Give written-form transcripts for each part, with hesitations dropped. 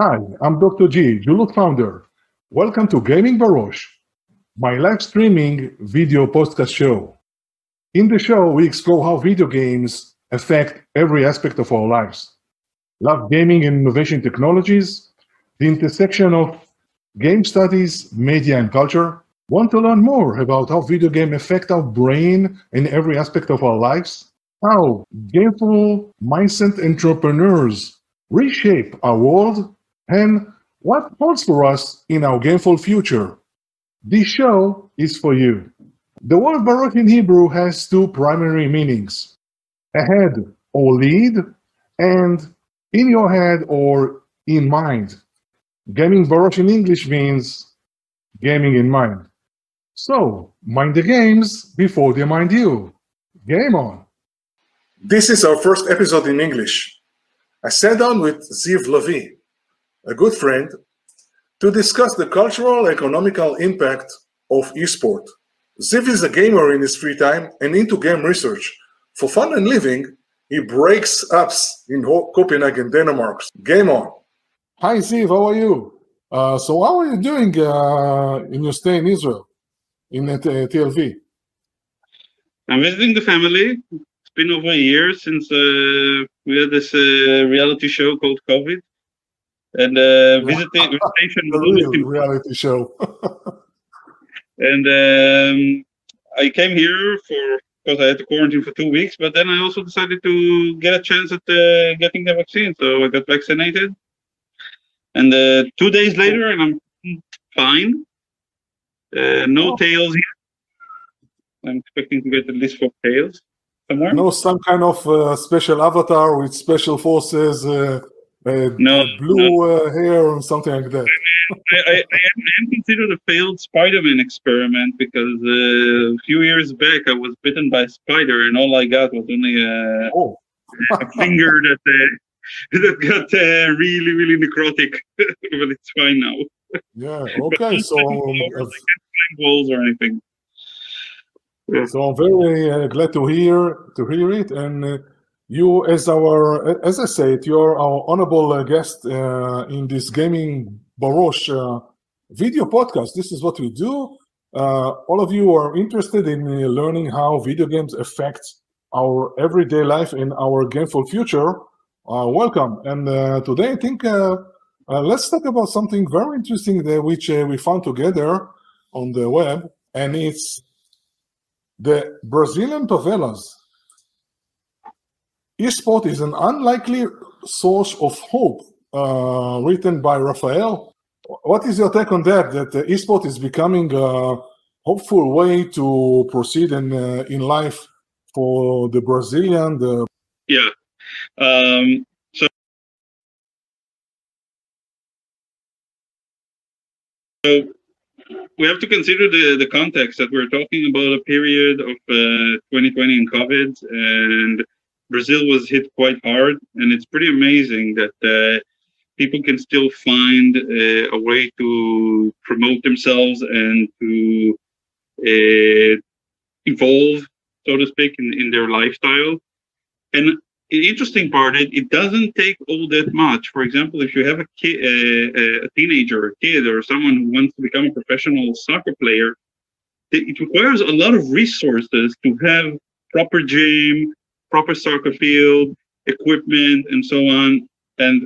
Hi, I'm Dr. G, Julut founder. Welcome to Gaming Barosh, my live streaming video podcast show. In the show, we explore how video games affect every aspect of our lives. Love gaming and innovation technologies, the intersection of game studies, media, and culture. Want to learn more about how video games affect our brain in every aspect of our lives? How gameful mindset entrepreneurs reshape our world? And what holds for us in our gameful future? This show is for you. The word Baruch in Hebrew has two primary meanings: ahead or lead, and in your head or in mind. Gaming Baruch in English means gaming in mind. So, mind the games before they mind you. Game on. This is our first episode in English. I sat down with Ziv Lavi, a good friend, to discuss the cultural and economical impact of esport. Ziv is a gamer in his free time and into game research. For fun and living, he breaks apps in Copenhagen, Denmark. Game on. Hi Ziv, how are you? So how are you doing in your stay in Israel, in TLV? I'm visiting the family. It's been over a year since we had this reality show called COVID. And visitation was always important. Reality show. And I came here because I had to quarantine for 2 weeks, but then I also decided to get a chance at getting the vaccine. So I got vaccinated. And 2 days later, and I'm fine. No tails yet. I'm expecting to get at least 4 tails somewhere. No, some kind of special avatar with special forces, blue hair or something like that. I am considered a failed Spider-Man experiment because a few years back I was bitten by a spider and all I got was only a finger that got really, really necrotic. But it's fine now. Yeah, okay. So walls or anything. So I'm very glad to hear it, and you, as I said, you're our honorable guest in this Gaming Barosh video podcast. This is what we do. All of you are interested in learning how video games affect our everyday life and our gameful future. Welcome. And today I think let's talk about something very interesting which we found together on the web, and it's the Brazilian favelas. Esport is an unlikely source of hope, written by Raphael. What is your take on that esport is becoming a hopeful way to proceed in life for the Brazilian? Yeah. So we have to consider the context that we're talking about a period of 2020 and COVID, and Brazil was hit quite hard, and it's pretty amazing that people can still find a way to promote themselves and to evolve, so to speak, in their lifestyle. And the interesting part, it doesn't take all that much. For example, if you have a kid, a teenager, a kid, or someone who wants to become a professional soccer player, it requires a lot of resources to have proper gym, proper soccer field, equipment, and so on. And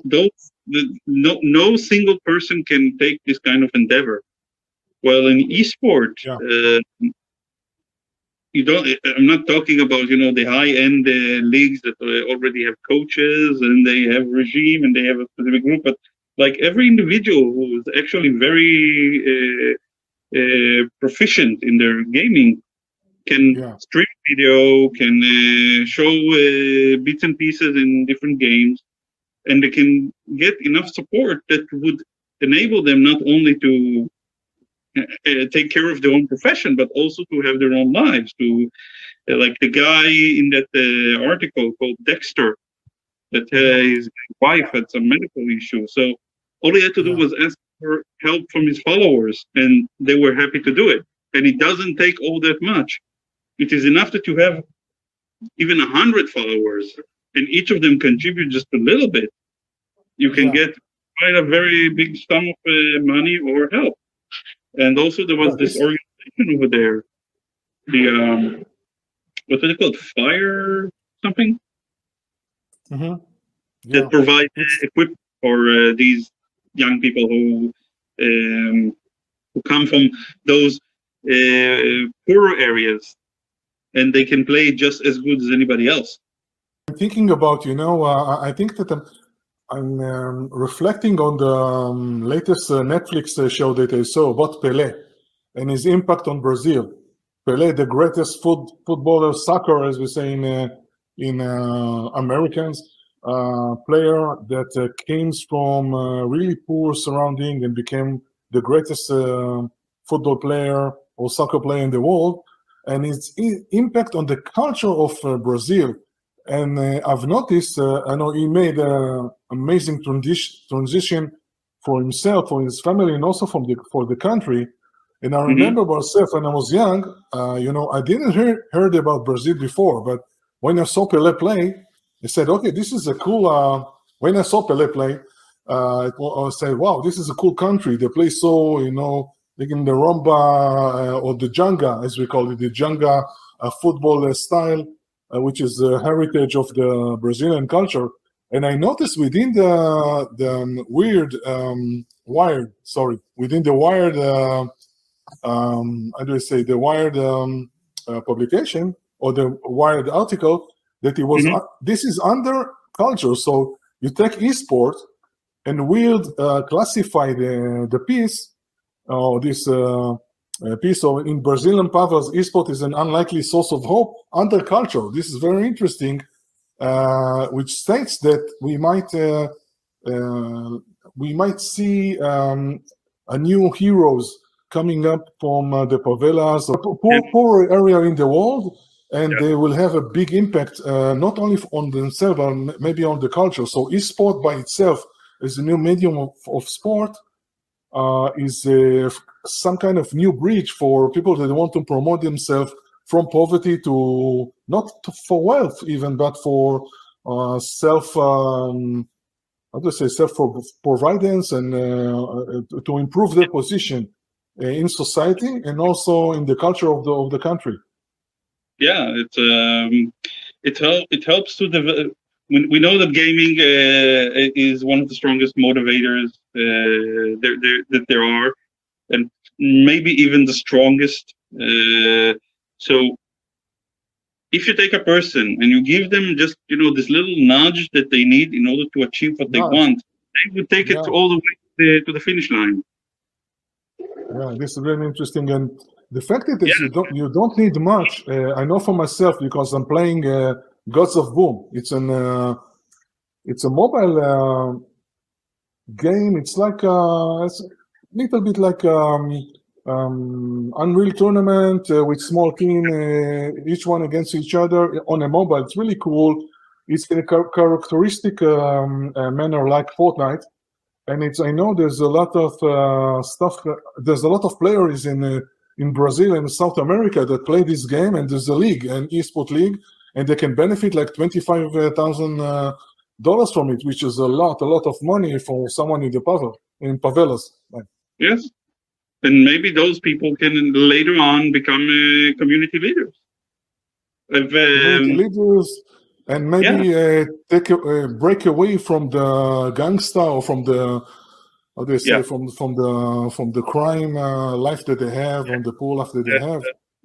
no single person can take this kind of endeavor. Well, in esport, I'm not talking about, the high-end leagues that already have coaches and they have regime and they have a specific group, but like every individual who is actually very proficient in their gaming can stream video, can show bits and pieces in different games, and they can get enough support that would enable them not only to take care of their own profession, but also to have their own lives. To like the guy in that article called Dexter, that his wife had some medical issues. So all he had to do was ask for help from his followers, and they were happy to do it. And it doesn't take all that much. It is enough that you have even 100 followers, and each of them contribute just a little bit. You can get provide a very big sum of money or help. And also there was this organization over there, the what's it called, Fire something, that provide equipment for these young people who come from those poorer areas, and they can play just as good as anybody else. I'm thinking about, I think that I'm reflecting on the latest Netflix show that I saw about Pelé and his impact on Brazil. Pelé, the greatest footballer, soccer, as we say in Americans, player that came from really poor surrounding and became the greatest football player or soccer player in the world, and its impact on the culture of Brazil. And I've noticed, I know he made an amazing transition for himself, for his family, and also for the country. And I remember myself when I was young, I didn't heard about Brazil before, but when I saw Pelé play, I said, okay, this is a cool, when I saw Pelé play, I said, wow, this is a cool country. They play so, like in the rumba or the janga, as we call it, the janga football style, which is the heritage of the Brazilian culture. And I noticed within the within the Wired, how do I say, the Wired publication or the Wired article, that it was, this is under culture. So you take esport and Wired classify the piece, this piece of in Brazilian Pavas, esport is an unlikely source of hope under culture. This is very interesting, which states that we might see a new heroes coming up from the favelas, poor area in the world, and they will have a big impact not only on themselves, but maybe on the culture. So esport by itself is a new medium of sport, is some kind of new bridge for people that want to promote themselves from poverty to for wealth even, but for self-providence and to improve their position in society and also in the culture of the country. Yeah, it helps to develop. We know that gaming is one of the strongest motivators that there are, and maybe even the strongest. So if you take a person and you give them just this little nudge that they need in order to achieve what they want, they would take it all the way to the finish line. Yeah, this is very interesting, and the fact that you don't need much. I know for myself because I'm playing Gods of Boom. It's a mobile game. It's like it's a little bit like Unreal Tournament with small team, each one against each other on a mobile. It's really cool. It's in a characteristic manner like Fortnite, and I know there's a lot of stuff. There's a lot of players in Brazil and South America that play this game, and there's a league, an esport league, and they can benefit like $25,000 from it, which is a lot of money for someone in favelas. Yes, and maybe those people can later on become community leaders. Community leaders, and maybe break away from the gangster or from the from the crime life that they have, and the poor life that they have.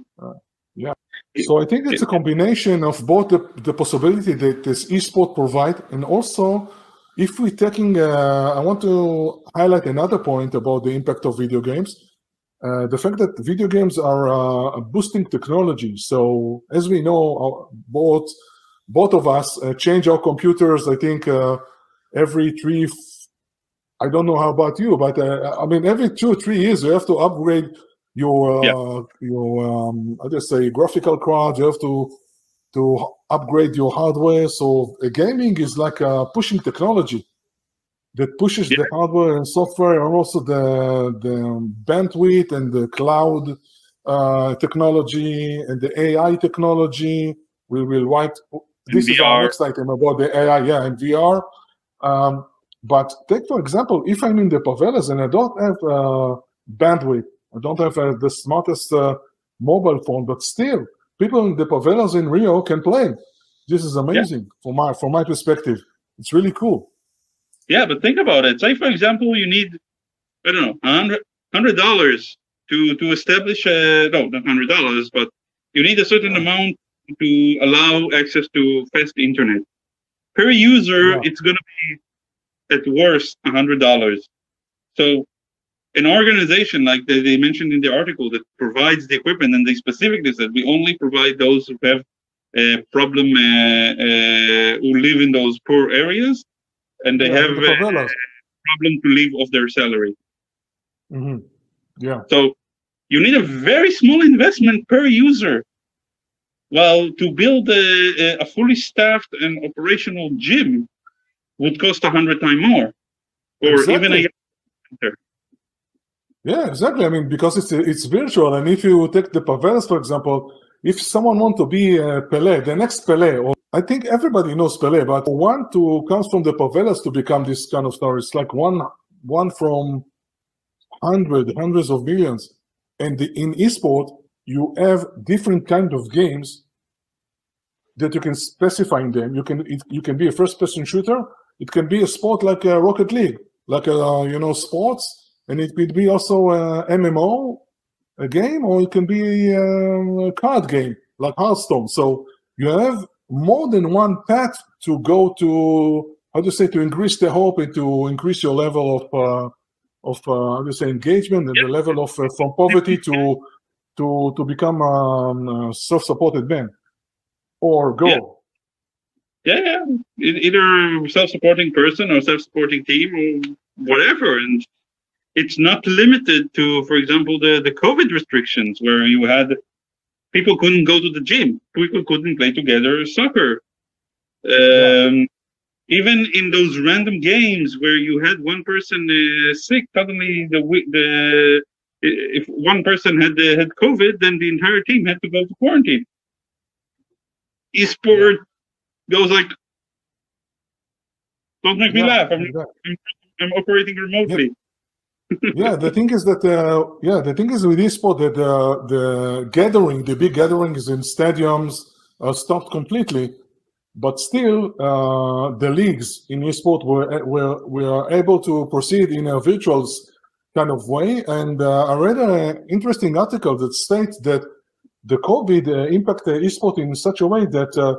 So I think it's a combination of both the possibility that this esport provide, and also if we're taking, I want to highlight another point about the impact of video games. The fact that video games are boosting technology. So as we know, both of us change our computers, I think every I don't know how about you, but I mean, every 2 or 3 years, you have to upgrade your I just say graphical card. You have to upgrade your hardware. So gaming is like pushing technology that pushes the hardware and software, and also the bandwidth and the cloud technology and the AI technology. We will this is our next item about the AI, and VR. But take, for example, if I'm in the favelas and I don't have bandwidth, I don't have the smartest mobile phone, but still, people in the favelas in Rio can play. This is amazing from my perspective. It's really cool. Yeah, but think about it. Say, for example, you need, I don't know, $100 to establish no, not $100, but you need a certain amount to allow access to fast internet. Per user, it's going to be at worst $100. So an organization like they mentioned in the article that provides the equipment, and they specifically said we only provide those who have a problem, who live in those poor areas, and they have a problem to live off their salary. Mm-hmm. Yeah. So you need a very small investment per user. Well, to build a fully staffed and operational gym would cost 100 times more, or even a center. Yeah, exactly. I mean, because it's virtual, and if you take the favelas, for example, if someone wants to be Pelé, the next Pelé, or I think everybody knows Pelé, but one to comes from the favelas to become this kind of star, it's like one from hundreds of millions. And in esport, you have different kind of games that you can specify in them. You can be a first-person shooter. It can be a sport like Rocket League, like sports, and it could be also a MMO, a game, or it can be a card game like Hearthstone. So you have more than one path to go to, to increase the hope and to increase your level of engagement and the level of from poverty to become a self-supported man or go. Yeah. Either self-supporting person or self-supporting team or whatever. And it's not limited to, for example, the COVID restrictions where you had people couldn't go to the gym, people couldn't play together soccer. Even in those random games where you had one person sick, suddenly if one person had COVID, then the entire team had to go to quarantine. Esport goes like, don't make me laugh. I'm operating remotely. Yeah, the thing is that with esport that the big gatherings in stadiums stopped completely. But still, the leagues in esport were able to proceed in a virtual kind of way. And I read an interesting article that states that the COVID impacted esport in such a way that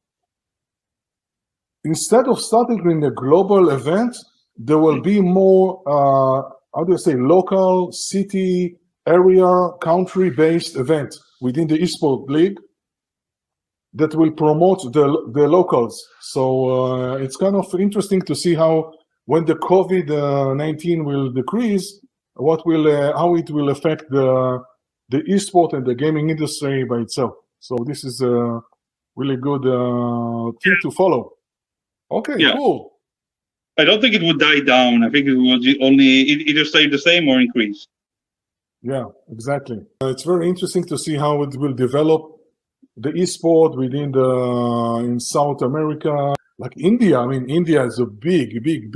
instead of starting in a global event, there will be more, local, city, area, country-based event within the esport league that will promote the locals. So it's kind of interesting to see how, when the COVID-19 will decrease, how it will affect the esport and the gaming industry by itself. So this is a really good thing to follow. Okay, cool. I don't think it would die down. I think it will only either stay the same or increase. Yeah, exactly. It's very interesting to see how it will develop. The esport within in South America, like India. I mean, India is a big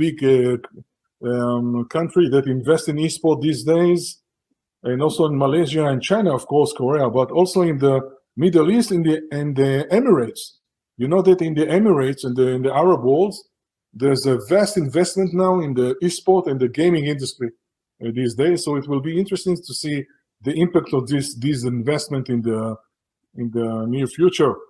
country that invests in esport these days, and also in Malaysia and China, of course, Korea, but also in the Middle East and the Emirates. You know that in the Emirates and in the Arab world, there's a vast investment now in the esport and the gaming industry these days. So it will be interesting to see the impact of this investment in the near future.